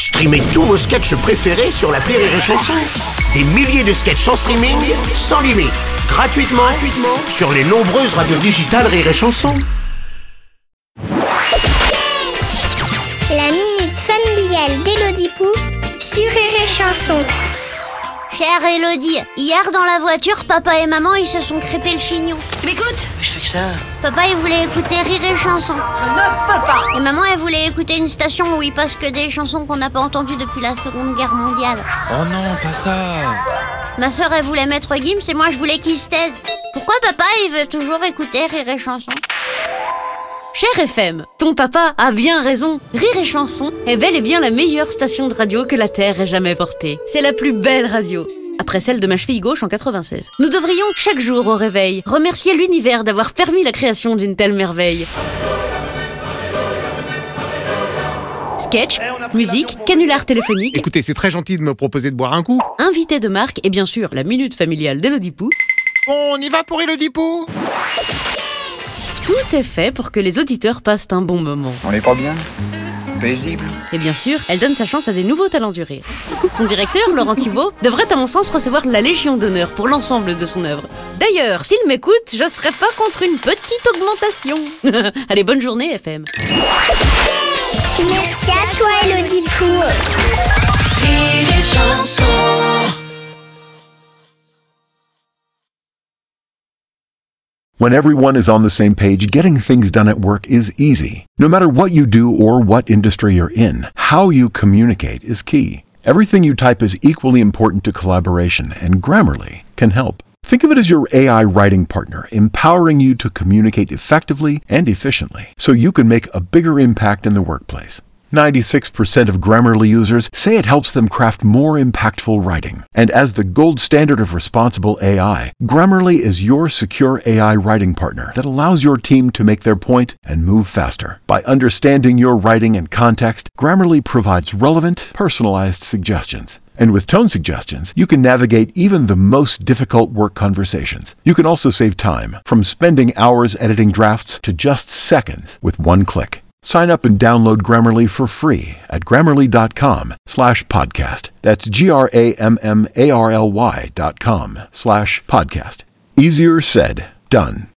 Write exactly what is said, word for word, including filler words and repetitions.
Streamez tous vos sketchs préférés sur l'appli Rire et Chanson. Des milliers de sketchs en streaming, sans limite, gratuitement, gratuitement sur les nombreuses radios digitales Rire et Chanson. La minute familiale d'Élodie Pou sur Rire et Chanson. Chère Élodie, hier dans la voiture, papa et maman ils se sont crêpés le chignon. Tu m'écoutes ? Je fais que ça. Papa il voulait écouter Rire et Chanson. Je ne veux pas. Et maman elle voulait écouter une station où il passe que des chansons qu'on n'a pas entendues depuis la Seconde Guerre mondiale. Oh non, pas ça. Ma sœur elle voulait mettre Gims et moi je voulais qu'il se taise. Pourquoi papa il veut toujours écouter Rire et Chanson ? Cher F M, ton papa a bien raison. Rire et Chanson est bel et bien la meilleure station de radio que la Terre ait jamais portée. C'est la plus belle radio, après celle de ma cheville gauche en quatre-vingt-seize. Nous devrions, chaque jour au réveil, remercier l'univers d'avoir permis la création d'une telle merveille. Sketch, musique, canular téléphonique. Écoutez, c'est très gentil de me proposer de boire un coup. Invité de marque et bien sûr la minute familiale d'Élodie Pou. On y va pour Élodie Pou. Tout est fait pour que les auditeurs passent un bon moment. On n'est pas bien ? Paisible. Et bien sûr, elle donne sa chance à des nouveaux talents du rire. Son directeur, Laurent Thibault, devrait à mon sens recevoir la Légion d'honneur pour l'ensemble de son œuvre. D'ailleurs, s'il m'écoute, je serais pas contre une petite augmentation. Allez, bonne journée F M. Merci à toi Élodie Pou. Rire et Chanson. When everyone is on the same page, getting things done at work is easy. No matter what you do or what industry you're in, how you communicate is key. Everything you type is equally important to collaboration, and Grammarly can help. Think of it as your A I writing partner, empowering you to communicate effectively and efficiently, so you can make a bigger impact in the workplace. ninety-six percent of Grammarly users say it helps them craft more impactful writing. And as the gold standard of responsible A I, Grammarly is your secure A I writing partner that allows your team to make their point and move faster. By understanding your writing and context, Grammarly provides relevant, personalized suggestions. And with tone suggestions, you can navigate even the most difficult work conversations. You can also save time, from spending hours editing drafts to just seconds with one click. Sign up and download Grammarly for free at grammarly.com slash podcast. That's G-R-A-M-M-A-R-L-Y dot com slash podcast. Easier said, done.